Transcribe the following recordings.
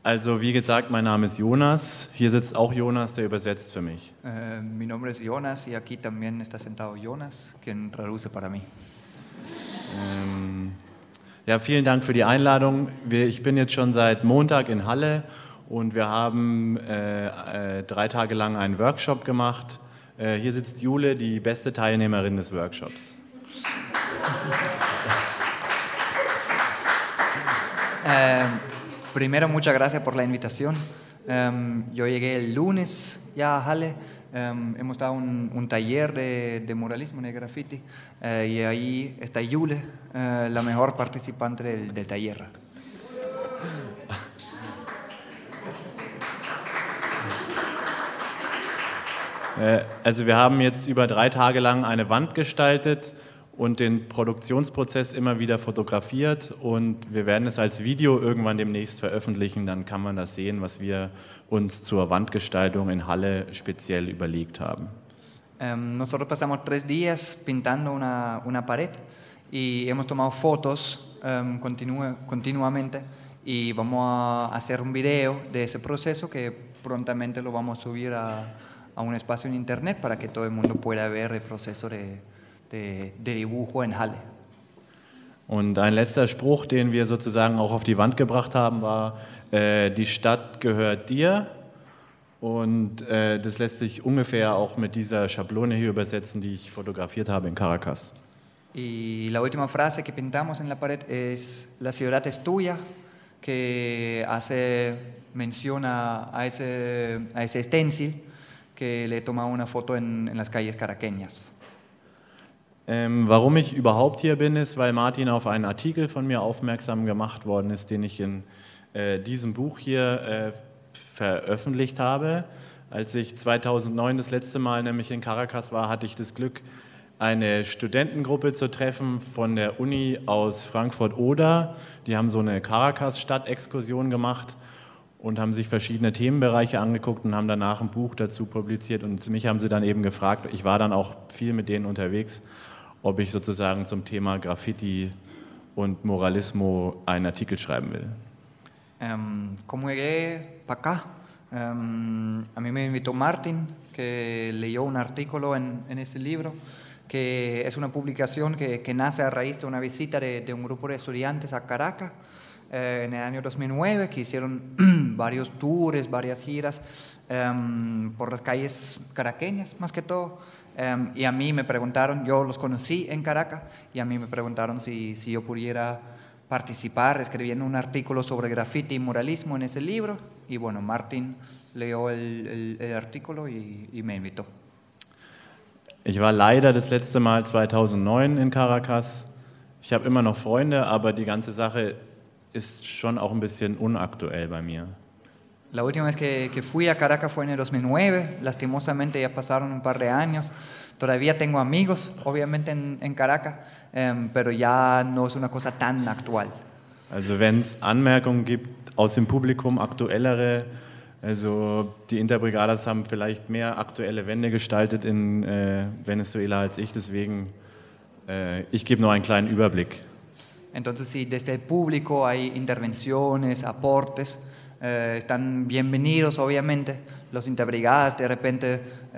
Also wie gesagt, mein Name ist Jonas. Hier sitzt auch Jonas, der übersetzt für mich. Mi nombre es Jonas y aquí también está sentado Jonas, quien traduce para mí. Ja, vielen Dank für die Einladung. Ich bin jetzt schon seit Montag in Halle und wir haben 3 Tage lang einen Workshop gemacht. Hier sitzt Jule, die beste Teilnehmerin des Workshops. Primero, muchas gracias por la invitación. Yo llegué el lunes ya a Halle. Hemos dado un taller de muralismo, de graffiti, y ahí está Jule, la mejor participante del taller. Also wir haben jetzt über 3 Tage lang eine Wand gestaltet und den Produktionsprozess immer wieder fotografiert und wir werden es als Video irgendwann demnächst veröffentlichen, dann kann man das sehen, was wir uns zur Wandgestaltung in Halle speziell überlegt haben. Nosotros pasamos 3 días pintando una pared y hemos tomado fotos continuamente y vamos a hacer un video de ese proceso que prontamente lo vamos a subir a un espacio en internet para que todo el mundo pueda ver el proceso de dibujo en Halle. Und ein letzter Spruch, den wir sozusagen auch auf die Wand gebracht haben, war, die Stadt gehört dir. Und das lässt sich ungefähr auch mit dieser Schablone hier übersetzen, die ich fotografiert habe in Caracas. Y la última frase que pintamos en la pared es la ciudad es tuya, que hace mención a ese stencil que le he tomado una foto en las calles caraqueñas. Warum ich überhaupt hier bin, ist, weil Martin auf einen Artikel von mir aufmerksam gemacht worden ist, den ich in diesem Buch hier veröffentlicht habe. Als ich 2009 das letzte Mal nämlich in Caracas war, hatte ich das Glück, eine Studentengruppe zu treffen von der Uni aus Frankfurt-Oder. Die haben so eine Caracas-Stadt-Exkursion gemacht und haben sich verschiedene Themenbereiche angeguckt und haben danach ein Buch dazu publiziert. Und mich haben sie dann eben gefragt, ich war dann auch viel mit denen unterwegs, ob ich sozusagen zum Thema Graffiti und Muralismo einen Artikel schreiben will. Como llegué para acá, a mí me invitó Martin, que leyó un artículo en ese libro, que es una publicación que nace a raíz de una visita de un grupo de estudiantes a Caracas en el año 2009, que hicieron varios tours, varias giras por las calles caraqueñas, más que todo. Y a mí me preguntaron, yo los conocí en Caracas, y a mí me preguntaron si yo pudiera participar escribiendo un artículo sobre graffiti y muralismo en ese libro. Y bueno, Martin leyó el artículo y me invitó. Ich war leider das letzte Mal 2009 in Caracas. Ich habe immer noch Freunde, aber die ganze Sache ist schon auch ein bisschen unaktuell bei mir. La última vez que fui a Caracas fue en el 2009, lastimosamente ya pasaron un par de años. Todavía tengo amigos, obviamente, en Caracas, pero ya no es una cosa tan actual. Also wenn es Anmerkungen gibt aus dem Publikum, aktuellere, also die Interbrigadas haben vielleicht mehr aktuelle Wände gestaltet in Venezuela als ich, deswegen ich gebe nur einen kleinen Überblick. Entonces, si desde el público hay intervenciones, aportes, están bienvenidos, obviamente. Los Interbrigadas de repente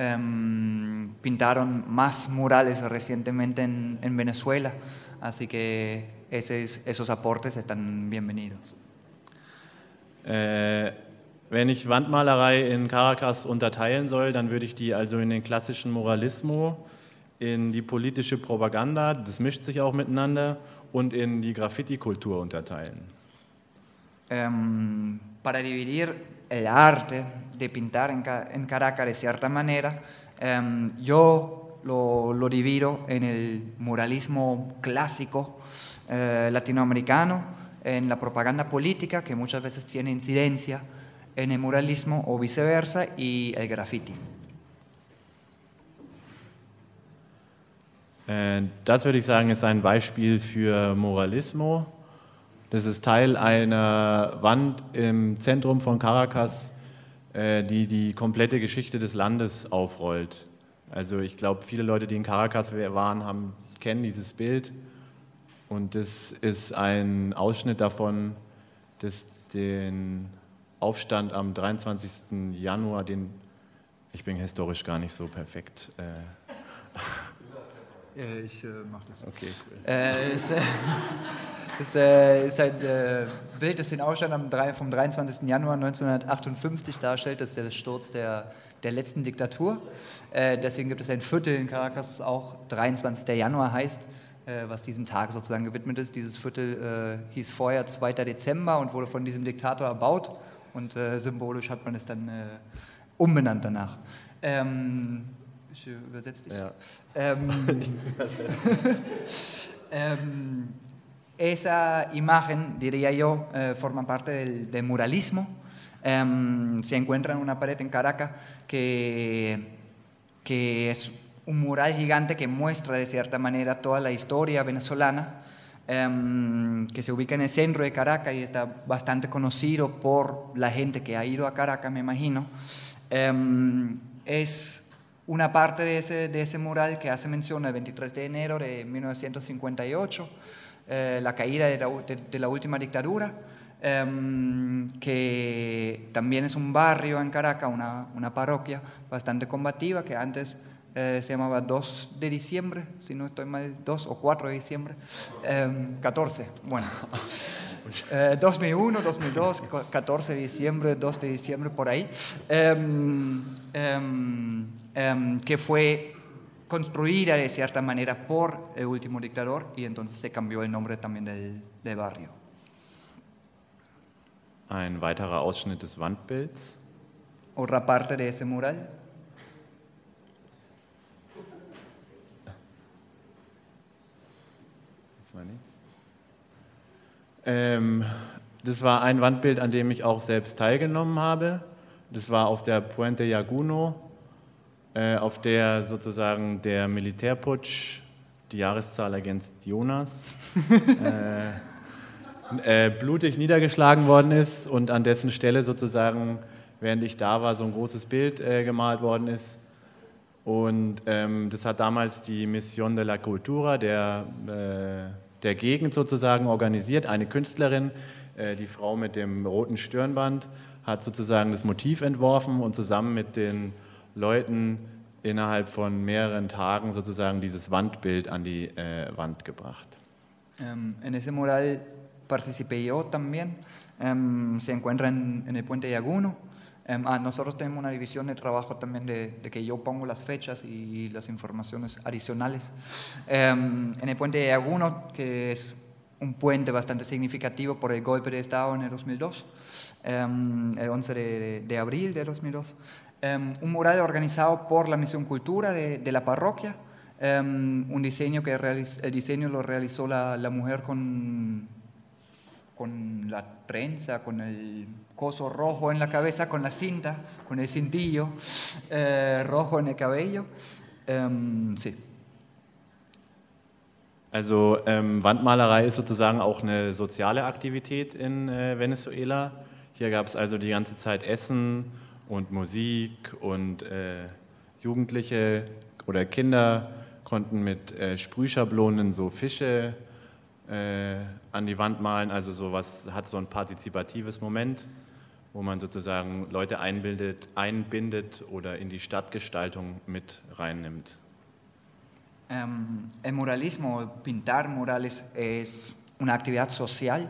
pintaron más murales recientemente en Venezuela, así que esos aportes están bienvenidos. Wenn ich Wandmalerei in Caracas unterteilen soll, dann würde ich die also in den klassischen Muralismo, in die politische Propaganda, das mischt sich auch miteinander, und in die Graffiti-Kultur unterteilen. Para dividir el arte de pintar en Caracas de cierta manera, yo lo divido en el muralismo clásico latinoamericano, en la propaganda política, que muchas veces tiene incidencia en el muralismo o viceversa, y el graffiti. Das würde ich sagen, ist ein Beispiel für Muralismo. Das ist Teil einer Wand im Zentrum von Caracas, die die komplette Geschichte des Landes aufrollt. Also ich glaube, viele Leute, die in Caracas waren, kennen dieses Bild. Und das ist ein Ausschnitt davon, das den Aufstand am 23. Januar, ich bin historisch gar nicht so perfekt. Ich mache das. Okay, cool. Es ist ein Bild, das den Aufstand vom 23. Januar 1958 darstellt. Das ist der Sturz der letzten Diktatur. Deswegen gibt es ein Viertel in Caracas, das auch 23. Januar heißt, was diesem Tag sozusagen gewidmet ist. Dieses Viertel hieß vorher 2. Dezember und wurde von diesem Diktator erbaut und symbolisch hat man es dann umbenannt danach. Ich übersetze dich. Ja. Esa imagen, diría yo, forma parte del muralismo. Se encuentra en una pared en Caracas que es un mural gigante que muestra de cierta manera toda la historia venezolana, que se ubica en el centro de Caracas y está bastante conocido por la gente que ha ido a Caracas, me imagino. Es una parte de ese mural que hace mención al 23 de enero de 1958, la caída de la última dictadura, que también es un barrio en Caracas, una parroquia bastante combativa que antes se llamaba 2 de diciembre, si no estoy mal, 2 o 4 de diciembre, 14, bueno, 2001, 2002, 14 de diciembre, 2 de diciembre, por ahí, que fue construida de cierta manera por el último dictador y entonces se cambió el nombre también del barrio. Ein weiterer Ausschnitt des Wandbilds. Otra parte de ese mural. Das war ein Wandbild, an dem ich auch selbst teilgenommen habe. Das war auf der Puente Llaguno, auf der sozusagen der Militärputsch, die Jahreszahl ergänzt Jonas, blutig niedergeschlagen worden ist und an dessen Stelle sozusagen, während ich da war, so ein großes Bild gemalt worden ist. Und das hat damals die Mission de la Cultura der Gegend sozusagen organisiert. Eine Künstlerin, die Frau mit dem roten Stirnband, hat sozusagen das Motiv entworfen und zusammen mit den Leuten innerhalb von mehreren Tagen sozusagen dieses Wandbild an die Wand gebracht. En ese mural participé yo también. Se encuentra en el Puente Llaguno. Nosotros tenemos una división de trabajo también de que yo pongo las fechas y las informaciones adicionales. En el Puente Llaguno, que es un puente bastante significativo por el golpe de Estado en el 2002, el 11 de abril de 2002. Un mural organizado por la Misión Cultura de la parroquia, un diseño el diseño lo realizó la mujer con la trenza, con el coso rojo en la cabeza, con la cinta, con el cintillo rojo en el cabello. Sí. Also Wandmalerei ist sozusagen auch eine soziale Aktivität in Venezuela. Hier gab es also die ganze Zeit Essen und Musik und Jugendliche oder Kinder konnten mit Sprühschablonen so Fische an die Wand malen, also sowas hat so ein partizipatives Moment, wo man sozusagen Leute einbindet oder in die Stadtgestaltung mit reinnimmt. El muralismo, pintar murales, es una actividad social.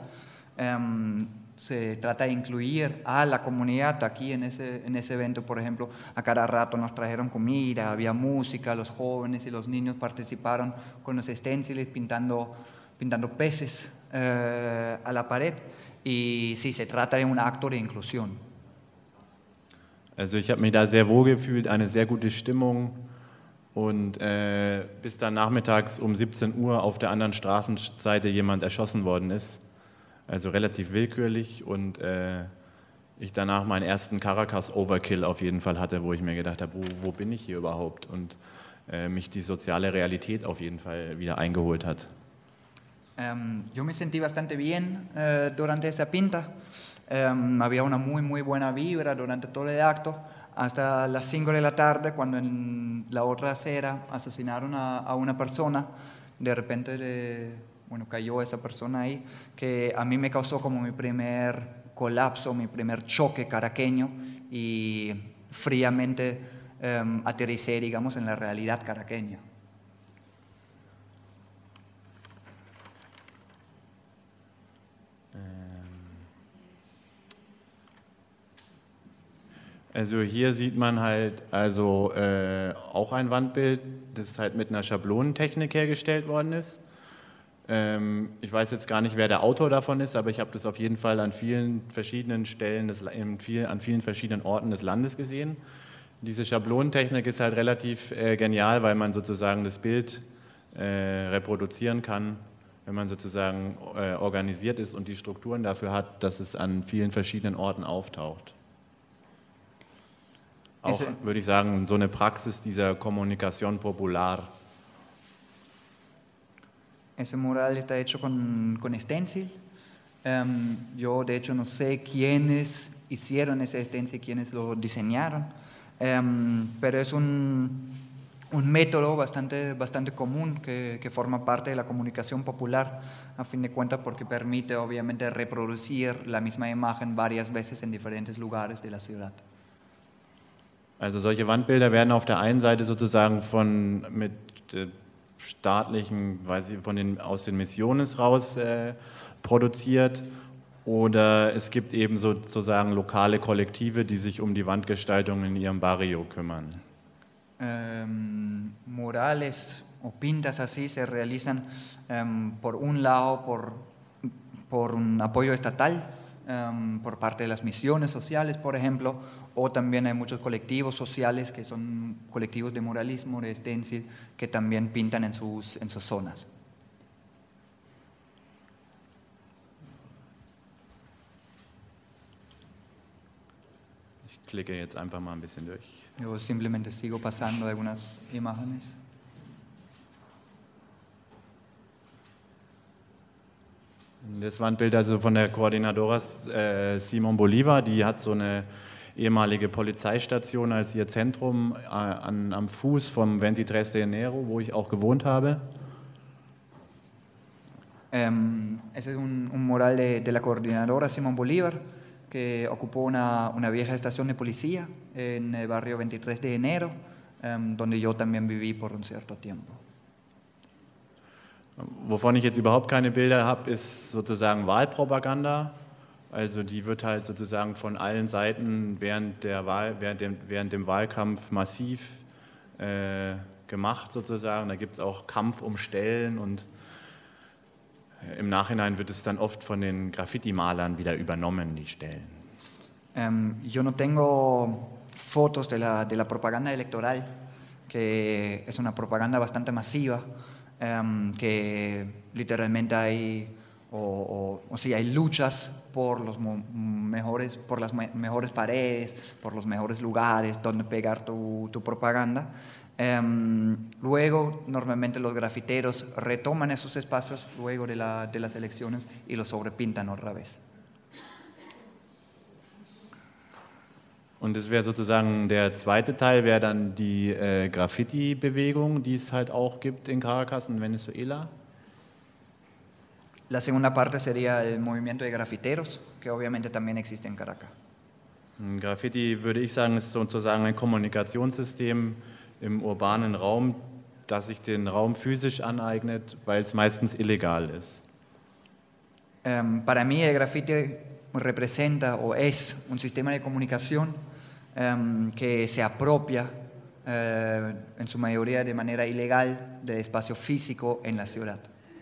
Se trata de incluir a la comunidad. Aquí en ese evento, por ejemplo, a cada rato nos trajeron comida, había música, los jóvenes y los niños participaron con los stenciles pintando peces a la pared. Y sí, se trata de un acto de inclusión. Also ich habe mich da sehr wohl gefühlt, eine sehr gute Stimmung. Und bis dann nachmittags um 17 Uhr auf der anderen Straßenseite jemand erschossen worden ist. Also relativ willkürlich und ich danach meinen ersten Caracas-Overkill auf jeden Fall hatte, wo ich mir gedacht habe, wo bin ich hier überhaupt? Und mich die soziale Realität auf jeden Fall wieder eingeholt hat. Yo me sentí bastante bien durante esa pinta. Había una muy buena vibra durante todo el acto. Hasta las 5 de la tarde, cuando en la otra acera asesinaron a una persona, de repente cayó esa persona ahí, que a mí me causó como mi primer colapso, mi primer choque caraqueño y fríamente aterricé, digamos, en la realidad caraqueña. Also hier sieht man halt also auch ein Wandbild, das halt mit einer Schablonentechnik hergestellt worden ist. Ich weiß jetzt gar nicht, wer der Autor davon ist, aber ich habe das auf jeden Fall an vielen verschiedenen Stellen, an vielen verschiedenen Orten des Landes gesehen. Diese Schablonentechnik ist halt relativ genial, weil man sozusagen das Bild reproduzieren kann, wenn man sozusagen organisiert ist und die Strukturen dafür hat, dass es an vielen verschiedenen Orten auftaucht. Auch, würde ich sagen, so eine Praxis dieser Comunicación popular. Ese mural está hecho con stencil. Yo, de hecho, no sé quiénes hicieron ese stencil, quiénes lo diseñaron, pero es un método bastante común que forma parte de la comunicación popular, a fin de cuentas, porque permite, obviamente, reproducir la misma imagen varias veces en diferentes lugares de la ciudad. Also solche Wandbilder werden auf der einen Seite sozusagen mit staatlichen, aus den Misiones raus produziert, oder es gibt eben sozusagen lokale Kollektive, die sich um die Wandgestaltung in ihrem Barrio kümmern. Murales o pintas así se realizan por un lado por un apoyo estatal, por parte de las misiones sociales, por ejemplo, o también hay muchos colectivos sociales que son colectivos de muralismo, de stencil, que también pintan en sus zonas. Ich klicke jetzt einfach mal ein bisschen durch. Yo simplemente sigo pasando algunas imágenes. Das Wandbild also von der Coordinadora Simón Bolívar, die hat so eine ehemalige Polizeistation als ihr Zentrum am Fuß vom 23 de Enero, wo ich auch gewohnt habe. Ese es un mural de la Coordinadora Simón Bolívar, que ocupó una vieja estación de policía en el barrio 23 de Enero, donde yo también viví por un cierto tiempo. Wovon ich jetzt überhaupt keine Bilder habe, ist sozusagen Wahlpropaganda. Also die wird halt sozusagen von allen Seiten während dem Wahlkampf massiv gemacht sozusagen. Da gibt es auch Kampf um Stellen und im Nachhinein wird es dann oft von den Graffiti-Malern wieder übernommen, die Stellen. Yo no tengo fotos de la propaganda electoral, que es una propaganda bastante masiva, que literalmente hay hay luchas por las mejores paredes, por los mejores lugares donde pegar tu propaganda. Luego, normalmente los grafiteros retoman esos espacios luego de las elecciones y los sobrepintan otra vez. Und das wäre sozusagen der zweite Teil, wäre dann die Graffiti-Bewegung, die es halt auch gibt in Caracas, in Venezuela. La segunda parte sería el movimiento de grafiteros, que obviamente también existe en Caracas. Graffiti, würde ich sagen, ist sozusagen ein Kommunikationssystem im urbanen Raum, das sich den Raum physisch aneignet, weil es meistens illegal ist. Para mí el graffiti representa o es un sistema de comunicación que se apropia en su mayoría de manera ilegal del espacio físico en la ciudad.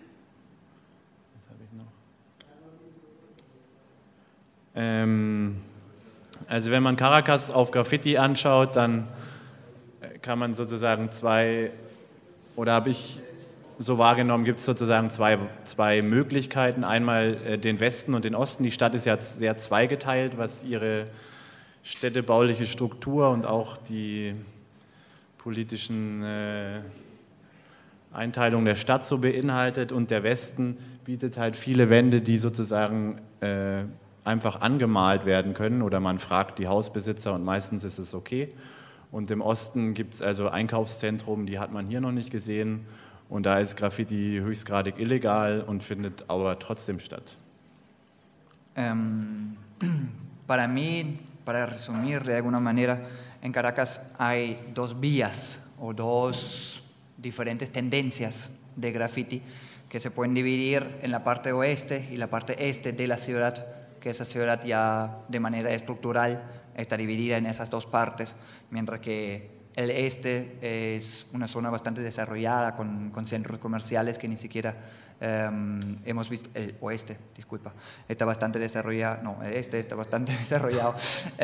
Also wenn man Caracas auf Graffiti anschaut, dann kann man sozusagen habe ich so wahrgenommen, gibt es sozusagen zwei Möglichkeiten. Einmal den Westen und den Osten. Die Stadt ist ja sehr zweigeteilt, was ihre städtebauliche Struktur und auch die politischen Einteilungen der Stadt so beinhaltet. Und der Westen bietet halt viele Wände, die sozusagen einfach angemalt werden können, oder man fragt die Hausbesitzer und meistens ist es okay. Und im Osten gibt es also Einkaufszentrum, die hat man hier noch nicht gesehen, und da ist Graffiti höchstgradig illegal und findet aber trotzdem statt. para mí, para resumir de alguna manera, en Caracas hay dos vías o dos diferentes tendencias de graffiti que se pueden dividir en la parte oeste y la parte este de la ciudad, que esa ciudad ya de manera estructural está dividida en esas dos partes, mientras que el este es una zona bastante desarrollada con centros comerciales que ni siquiera hemos visto. El oeste, disculpa, está bastante desarrollado, no, el este está bastante desarrollado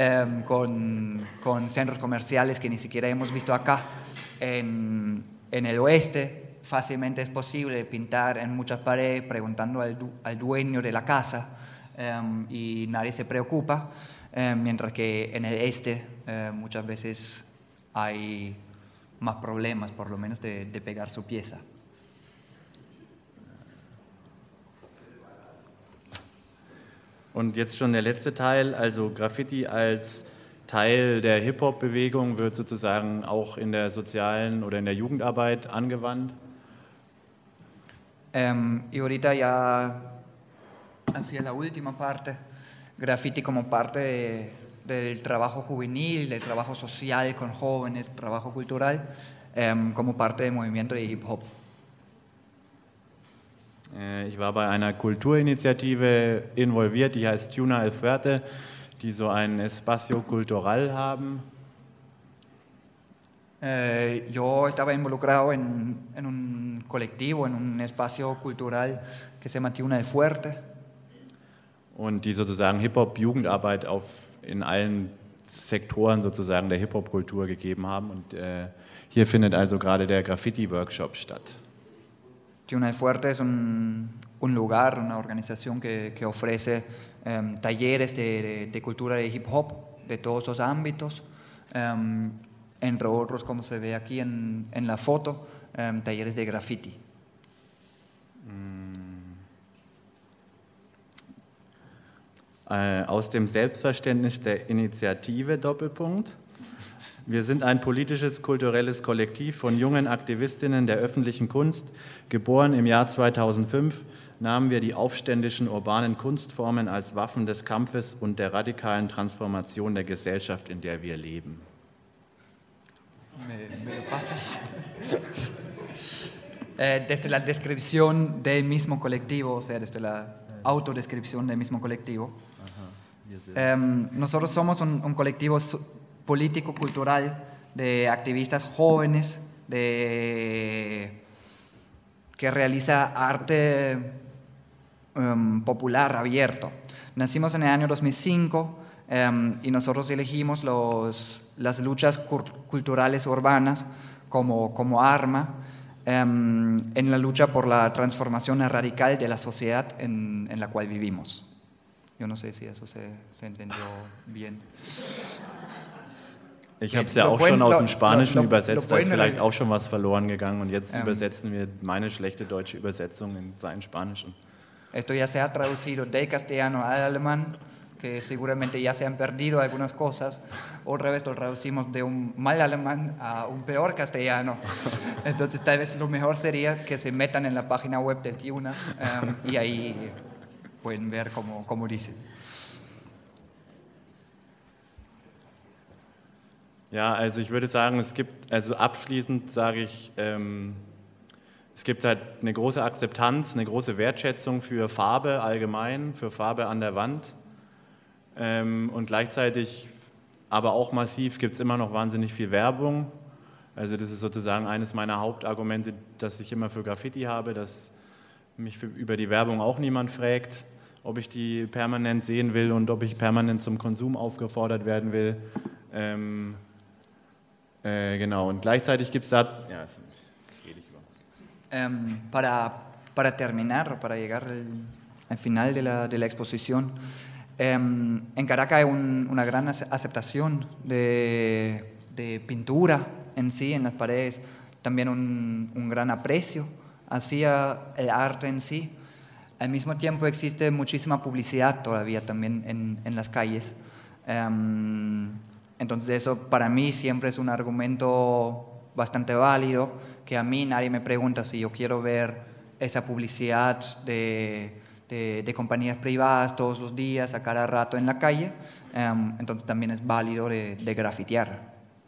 con centros comerciales que ni siquiera hemos visto acá. En el oeste fácilmente es posible pintar en muchas paredes preguntando al dueño de la casa y nadie se preocupa, mientras que en el este muchas veces hay más problemas, por lo menos de pegar su pieza. Und jetzt schon der letzte Teil, also Graffiti als Teil der Hip-Hop-Bewegung wird sozusagen auch in der sozialen oder in der Jugendarbeit angewandt. Y ahorita ya hacia la última parte, graffiti como parte del trabajo juvenil, del trabajo social con jóvenes, trabajo cultural, como parte del movimiento de hip hop. Ich war bei einer Kulturinitiative involviert, die heißt Tuna El Fuerte, die so ein Espacio Cultural haben. Yo estaba involucrado en un colectivo, en un espacio cultural que se llama Tuna El Fuerte. Und die sozusagen Hip-Hop-Jugendarbeit in allen Sektoren sozusagen der Hip-Hop-Kultur gegeben haben. Und hier findet also gerade der Graffiti-Workshop statt. Tuna El Fuerte es un lugar, una organización que ofrece talleres de cultura de hip hop de todos los ámbitos, entre otros, como se ve aquí en la foto, talleres de graffiti. Aus dem Selbstverständnis der Initiative Doppelpunkt. Wir sind ein politisches, kulturelles Kollektiv von jungen Aktivistinnen der öffentlichen Kunst. Geboren im Jahr 2005 nahmen wir die aufständischen urbanen Kunstformen als Waffen des Kampfes und der radikalen Transformation der Gesellschaft, in der wir leben. ¿Me lo pasas? Desde la descripción del mismo colectivo, o sea, desde la autodescripción del mismo colectivo, nosotros somos un colectivo político-cultural de activistas jóvenes que realiza arte popular abierto. Nacimos en el año 2005 y nosotros elegimos las luchas culturales urbanas como arma en la lucha por la transformación radical de la sociedad en la cual vivimos. Yo no sé si eso se entendió bien. Ich habe es ja auch schon aus dem Spanischen übersetzt, da ist vielleicht auch schon was verloren gegangen und jetzt übersetzen wir meine schlechte deutsche Übersetzung in seinen Spanischen. Esto ya se ha traducido del castellano al alemán, que seguramente ya se han perdido algunas cosas. Otra vez lo traducimos de un mal alemán a un peor castellano. Entonces tal vez lo mejor sería que se metan en la página web del Tuna y ahí pueden ver cómo dice. Ja, also ich würde sagen, abschließend sage ich, es gibt halt eine große Akzeptanz, eine große Wertschätzung für Farbe allgemein, für Farbe an der Wand und gleichzeitig aber auch massiv gibt es immer noch wahnsinnig viel Werbung. Also das ist sozusagen eines meiner Hauptargumente, dass ich immer für Graffiti habe, dass mich über die Werbung auch niemand fragt, ob ich die permanent sehen will und ob ich permanent zum Konsum aufgefordert werden will. Genau, und gleichzeitig gibt es da... Ja, das geht nicht über. Para terminar, para llegar al final de la exposición, en Caracas hay una gran aceptación de pintura en sí, en las paredes, también un gran aprecio hacia el arte en sí. Al mismo tiempo existe muchísima publicidad todavía también en las calles. Entonces eso para mí siempre es un argumento bastante válido, que a mí nadie me pregunta si yo quiero ver esa publicidad de de compañías privadas todos los días, a cada rato en la calle, entonces también es válido de grafitear.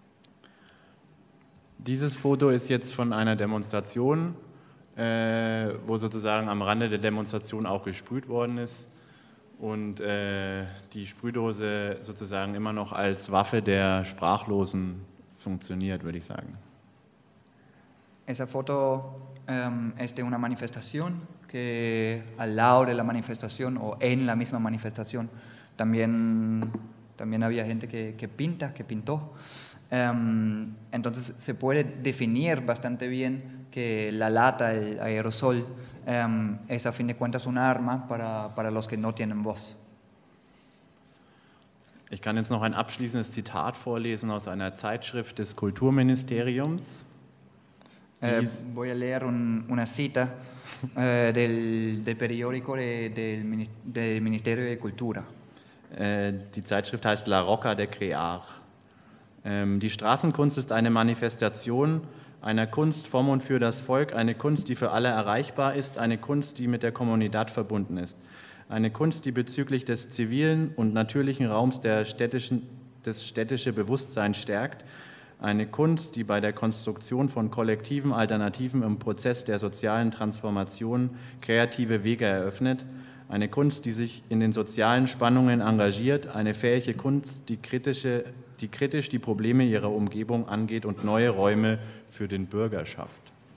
Dieses Foto ist jetzt von einer Demonstration, wo sozusagen am Rande der Demonstration auch gesprüht worden ist und die Sprühdose sozusagen immer noch als Waffe der Sprachlosen funktioniert, würde ich sagen. Esa foto es de una manifestación que al lado de la manifestación o en la misma manifestación también había gente que pintó. Entonces se puede definir bastante bien que la lata, el aerosol, es a fin de cuentas un arma para los que no tienen voz. Ich kann jetzt noch ein abschließendes Zitat vorlesen aus einer Zeitschrift des Kulturministeriums. Voy a leer una cita del periódico del Ministerio de Cultura. Die Zeitschrift heißt La Rocca de Crear. Die Straßenkunst ist eine Manifestation einer Kunst vom und für das Volk, eine Kunst, die für alle erreichbar ist, eine Kunst, die mit der Comunidad verbunden ist. Eine Kunst, die bezüglich des zivilen und natürlichen Raums das städtische Bewusstsein stärkt. Eine Kunst, die bei der Konstruktion von kollektiven Alternativen im Prozess der sozialen Transformation kreative Wege eröffnet. Eine Kunst, die sich in den sozialen Spannungen engagiert. Eine fähige Kunst, die kritisch die Probleme ihrer Umgebung angeht und neue Räume für den Bürger schafft.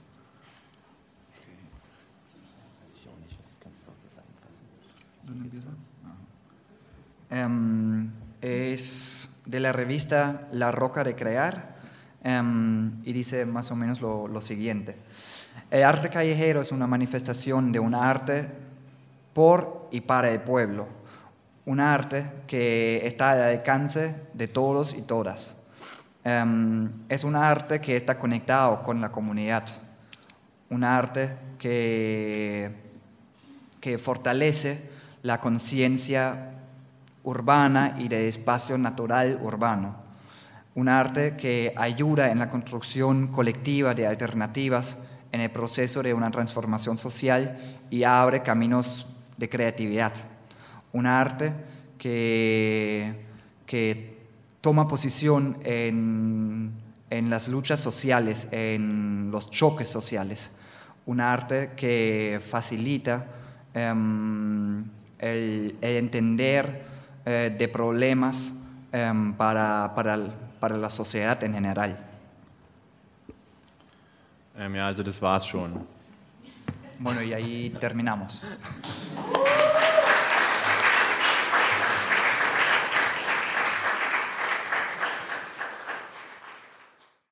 Es de la revista La Rocca de Crear y dice más o menos lo siguiente. El arte callejero es una manifestación de un arte por y para el pueblo, un arte que está al alcance de todos y todas. Es un arte que está conectado con la comunidad, un arte que fortalece la conciencia urbana y de espacio natural urbano, un arte que ayuda en la construcción colectiva de alternativas en el proceso de una transformación social y abre caminos de creatividad, un arte que toma posición en las luchas sociales, en los choques sociales, un arte que facilita el entender de problemas para la sociedad en general. Ja, also das war's schon. Bueno, y ahí terminamos.